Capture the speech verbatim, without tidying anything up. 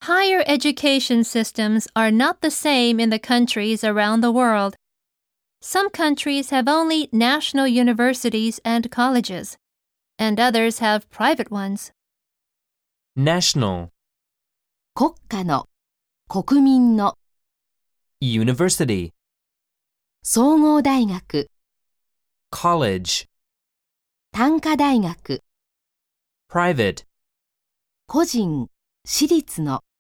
Higher education systems are not the same in the countries around the world. Some countries have only national universities and colleges, and others have private ones. National, 国家の、国民の、 University, 総合大学、 College, 短科大学、 Private. 個人、私立の